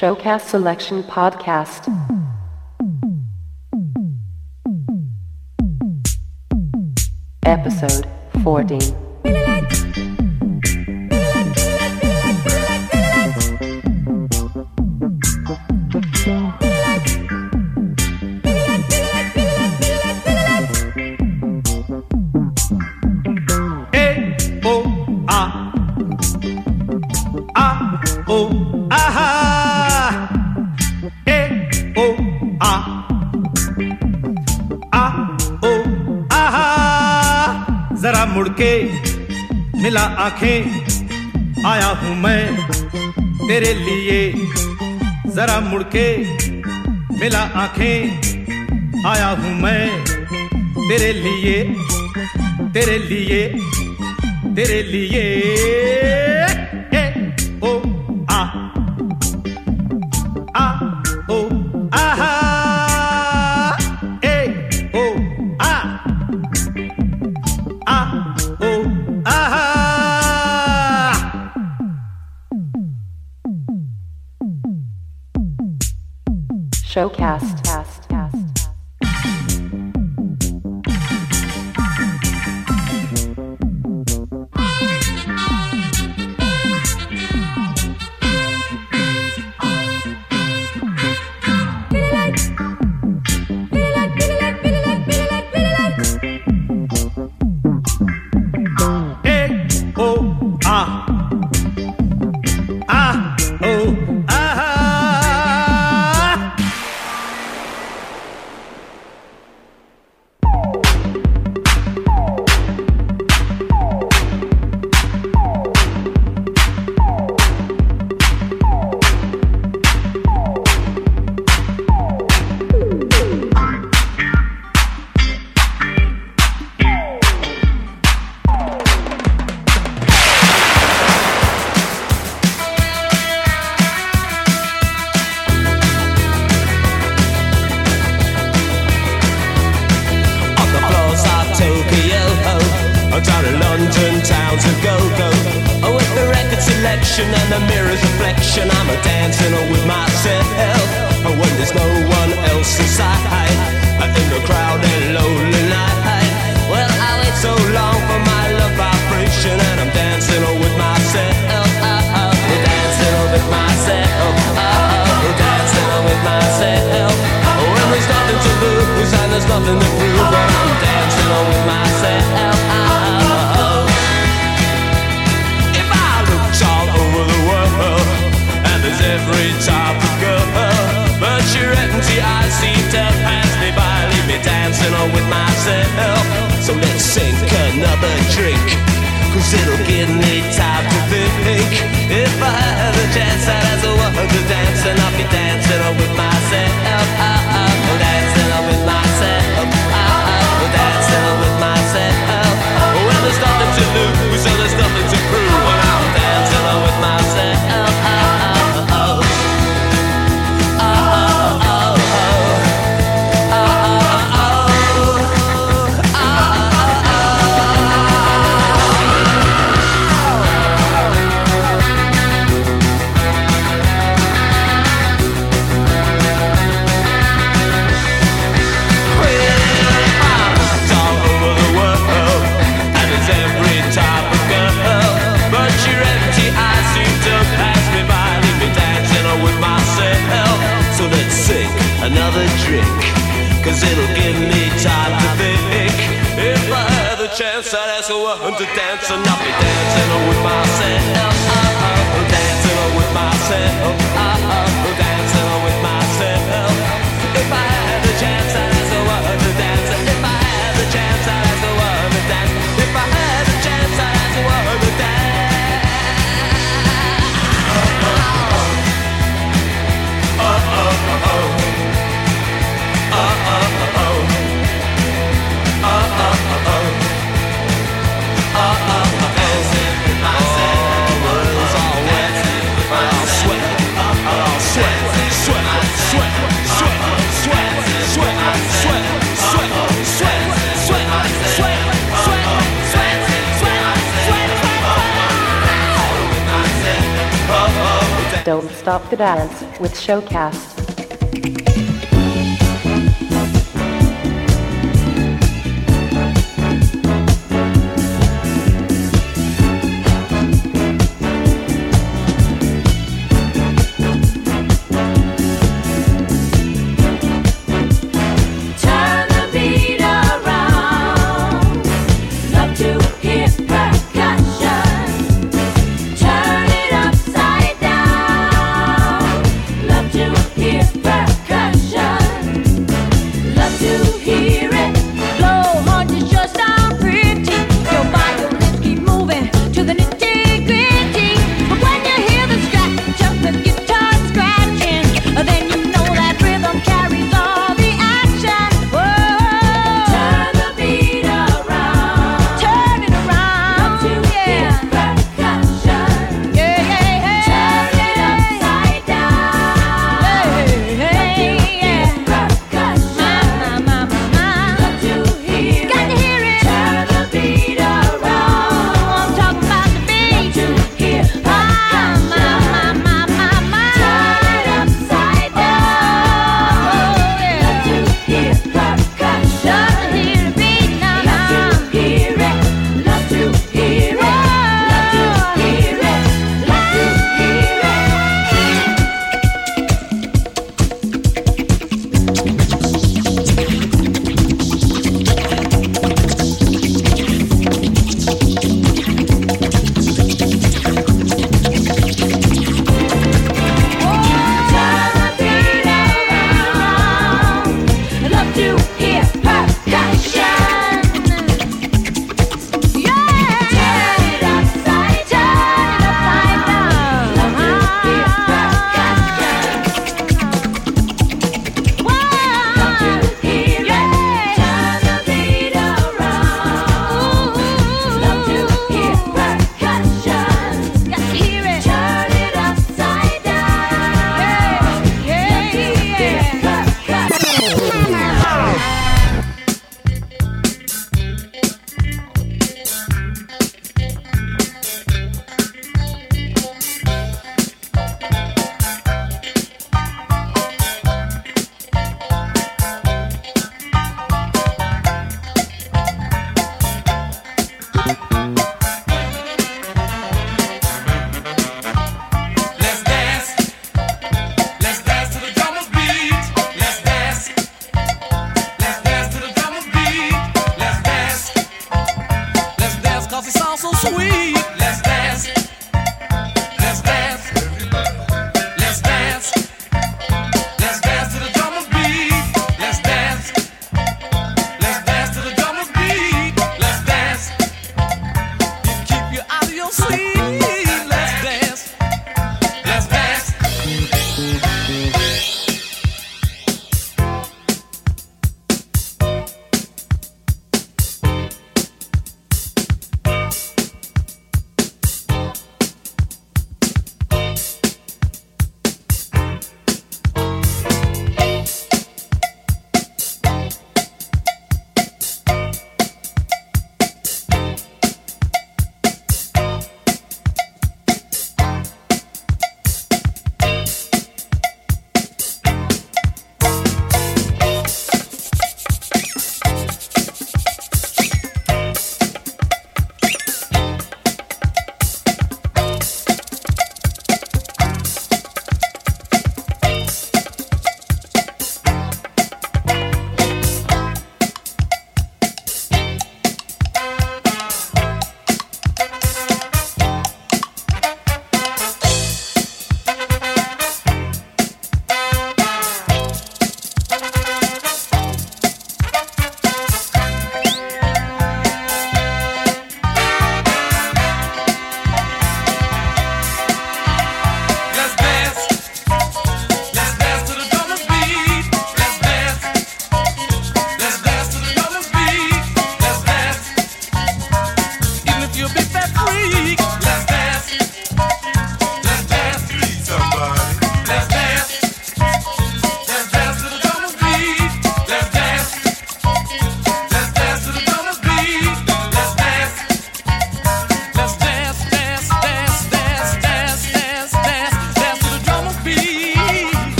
Showcast Selection Podcast. Episode 14. मुड़के मिला आंखें आया हूं मैं तेरे लिए जरा मुड़के मिला आंखें आया हूं मैं तेरे लिए तेरे लिए तेरे लिए ए ओ आ ओ आहा ए ओ आ Showcast. Sweat Don't Stop the Dance with Showcast. Turn it upside down. Love to hear percussion.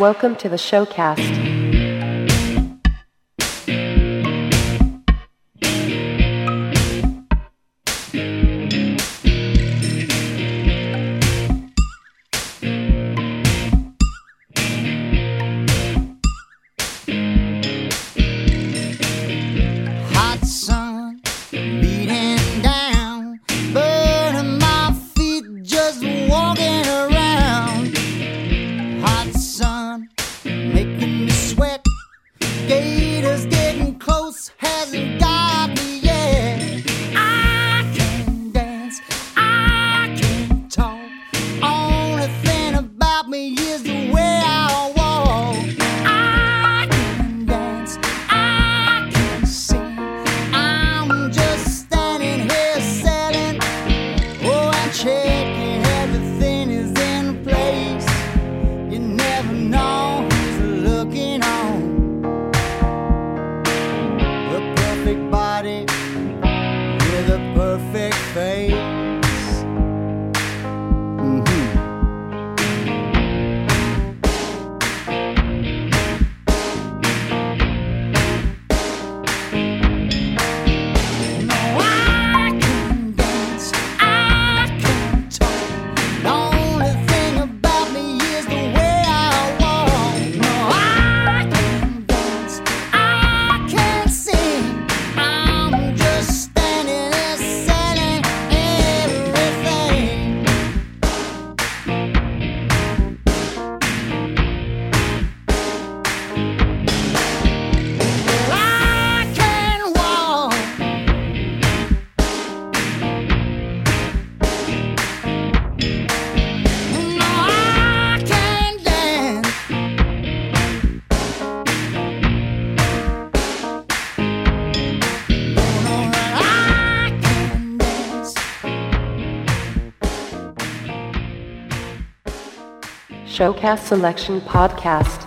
Welcome to the Showcast. Showcast Selection Podcast.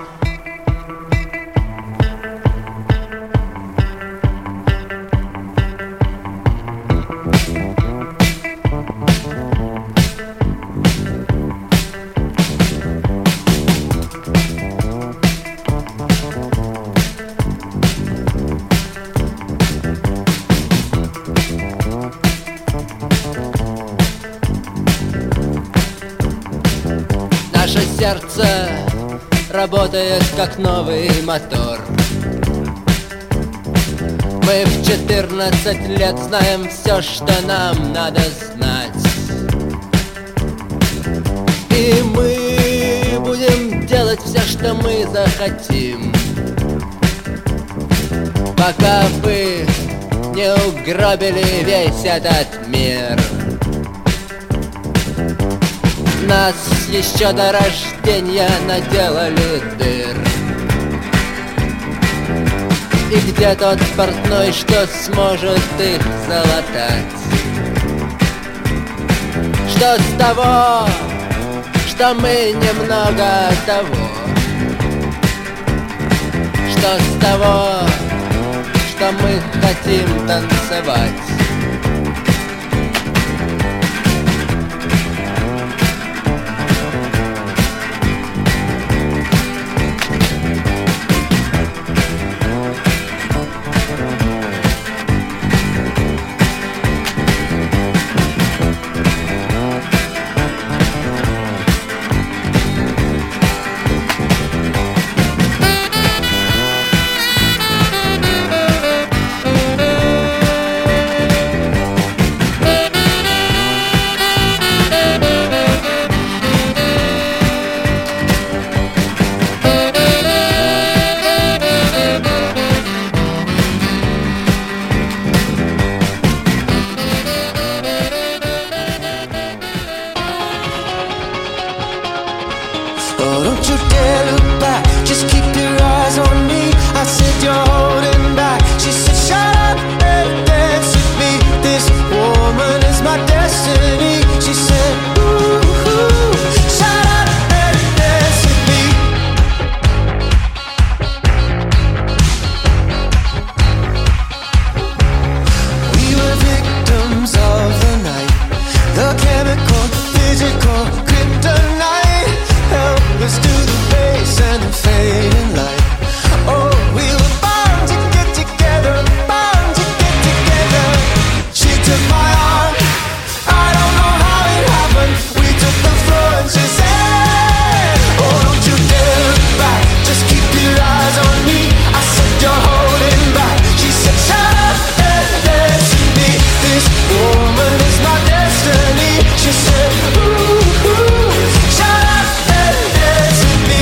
Сердце работает как новый мотор. Мы в 14 лет знаем все, что нам надо знать. И мы будем делать все, что мы захотим, пока вы не угробили весь этот мир. Нас еще до рождения наделали дыр. И где тот портной, что сможет их залатать? Что с того, что мы немного того? Что с того, что мы хотим танцевать? took my arm. I don't know how it happened. We took the floor and she said, oh, don't you dare look back, just keep your eyes on me. I said, you're holding back. She said, shut up and dance with me. This woman is my destiny. She said, ooh, ooh, shut up and dance with me.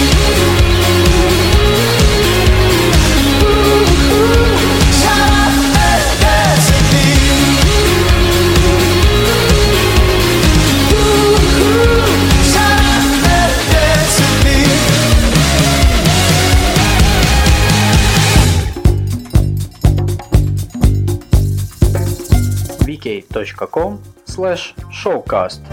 Ooh, ooh, shut up and dance with me. Ooh, ooh, shut up and dance with me. vk.com/showcast.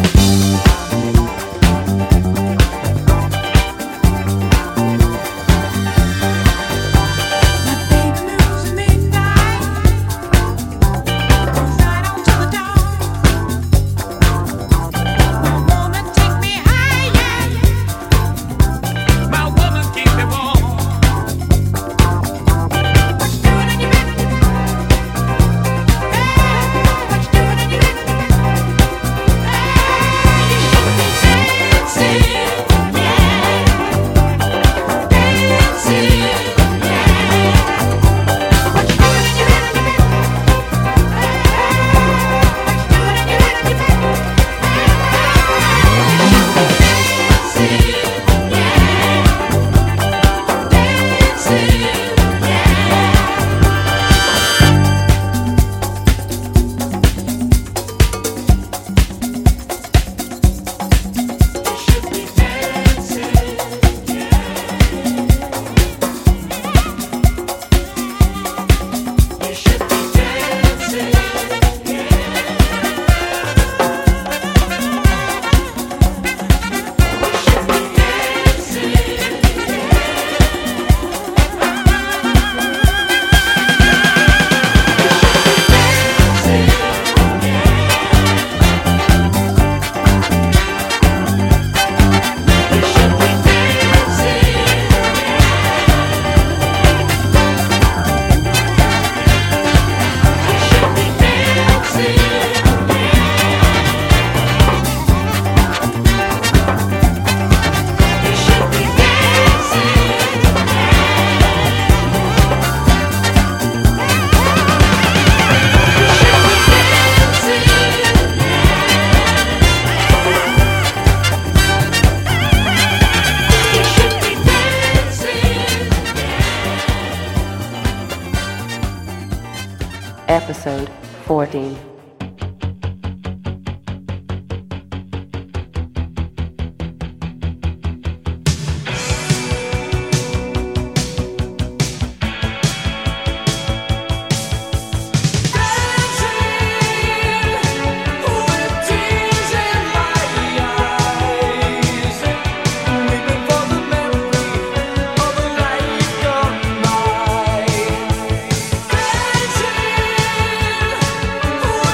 Episode 14. Dancing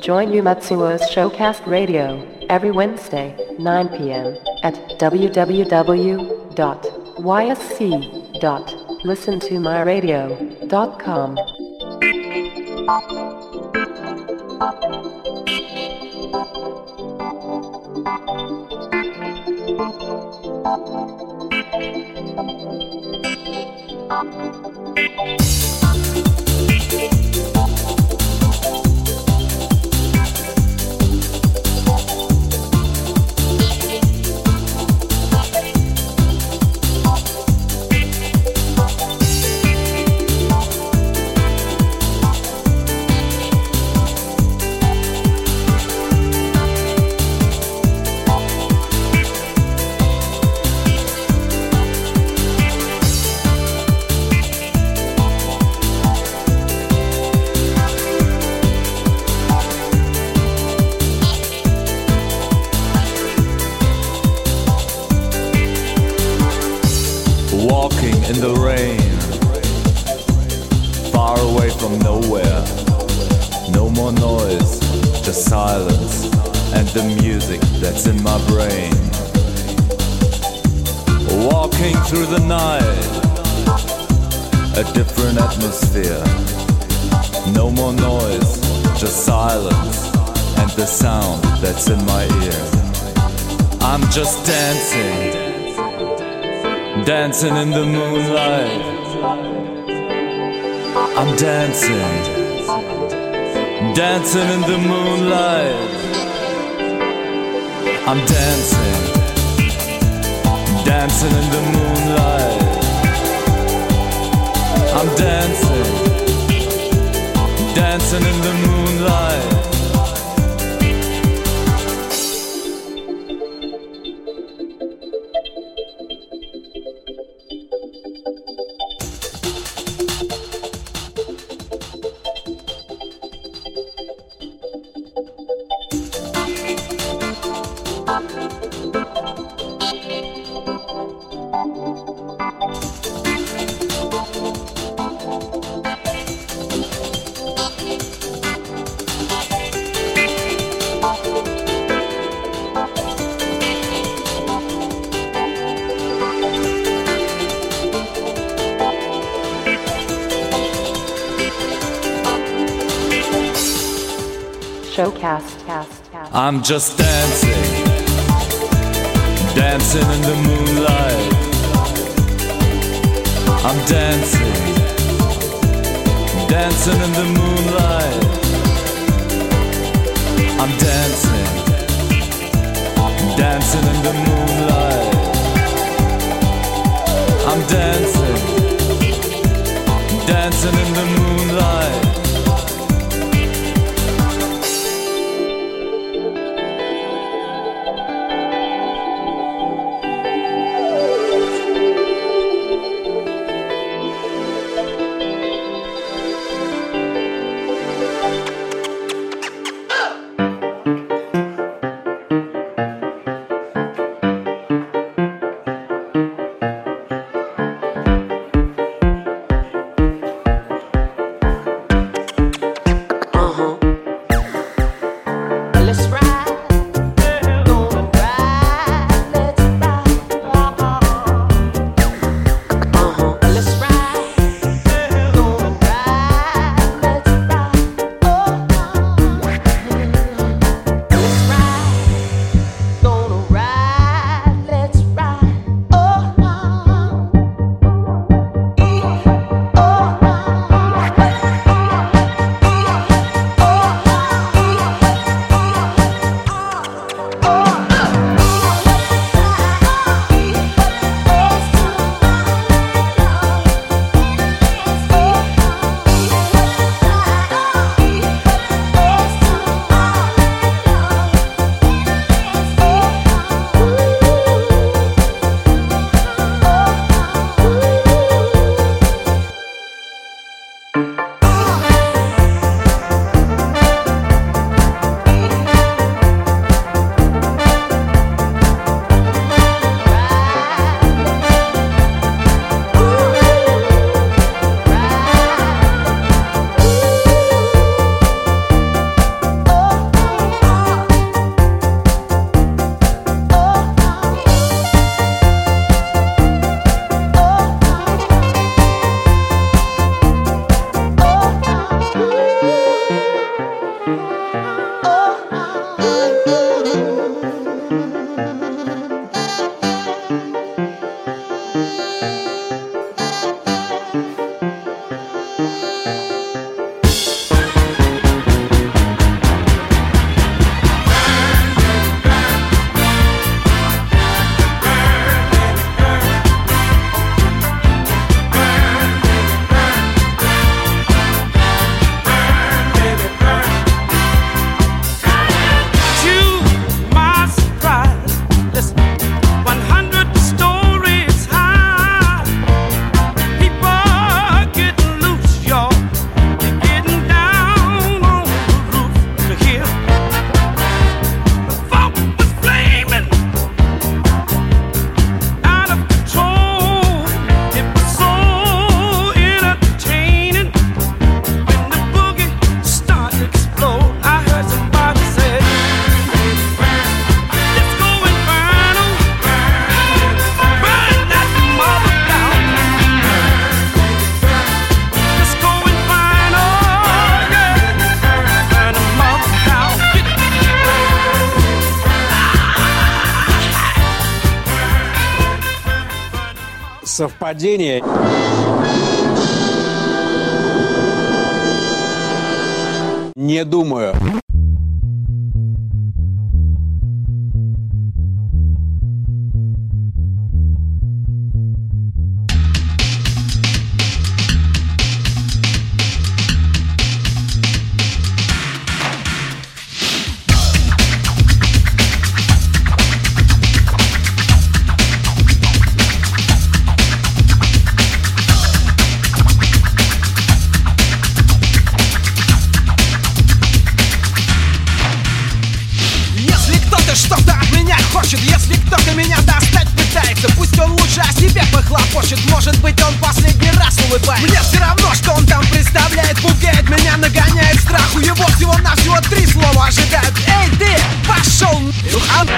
Join Umatsuo's Showcast Radio every Wednesday, 9 p.m. at www.ysc.listentomyradio.com. Walking in the rain, far away from nowhere. No more noise, just silence and the music that's in my brain. Walking through the night, a different atmosphere. No more noise, just silence and the sound that's in my ear. I'm just dancing. Dancing in the moonlight. I'm dancing. Dancing in the moonlight. I'm dancing. Dancing in the moonlight. I'm dancing. Dancing in the moonlight. Showcast. I'm just dancing, dancing in the moonlight. I'm dancing, dancing in the moonlight. I'm dancing, dancing in the moonlight. I'm dancing, dancing in the moonlight. Совпадение? Не думаю. Если кто-то меня достать пытается, пусть он лучше о себе похлопочет. Может быть, он последний раз улыбается. Мне все равно, что он там представляет. Пугает меня, нагоняет страху. Его всего-навсего 3 слова ожидают. Эй, ты, пошел нахуй!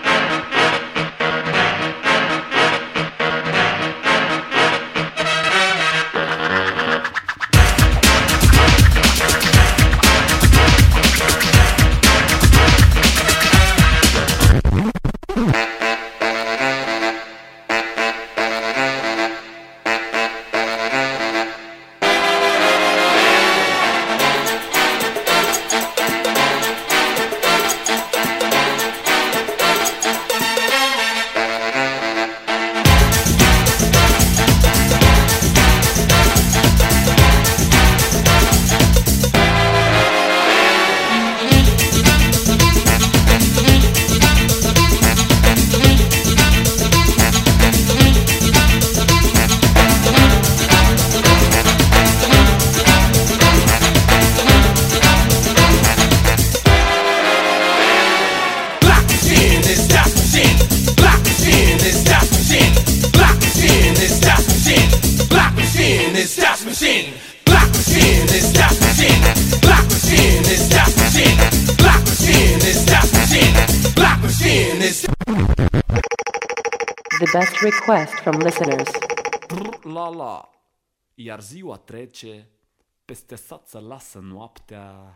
The best request from listeners. La. Iar ziua trece, peste sat se lasă noaptea.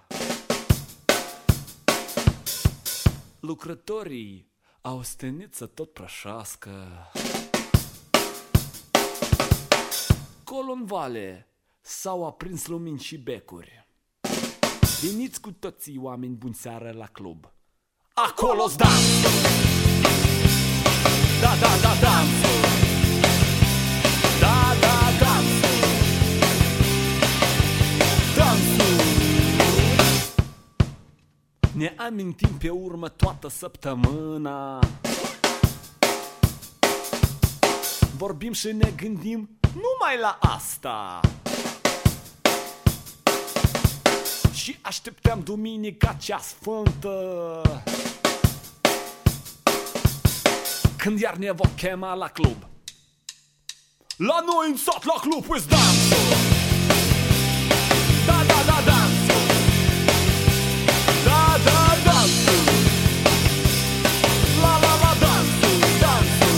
Lucrătorii au stenit să tot prășească. Colo în vale s-au aprins lumini și becuri. Veniți cu toții oameni buni seară la club. Acolo-s dansul! Da, dansul! Da, dansul! Dansul! Ne amintim pe urmă toată săptămâna. Vorbim și ne gândim numai la asta. Și așteptăm duminica cea sfântă, când iar ne vom chema la club. La noi în sat, la club, îți dansul! Da, dansul! Da, dansul! La, dansul, dansul!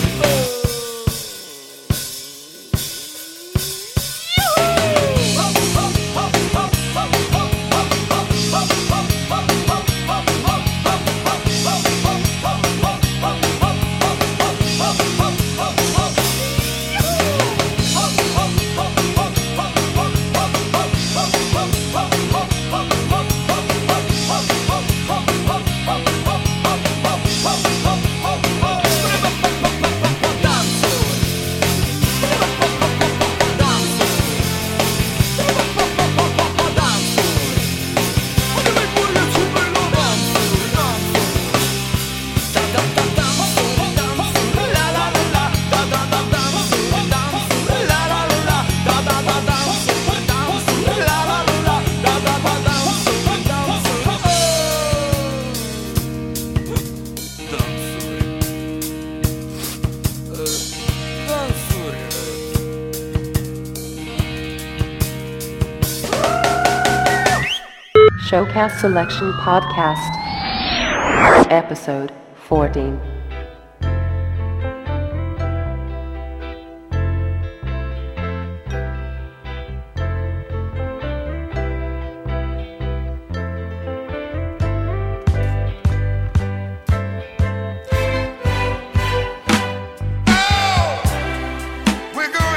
Showcast Selection Podcast, Episode 14. We're going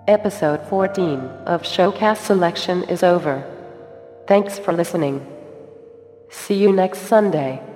Episode 14 of Showcast Selection is over. Thanks for listening. See you next Sunday.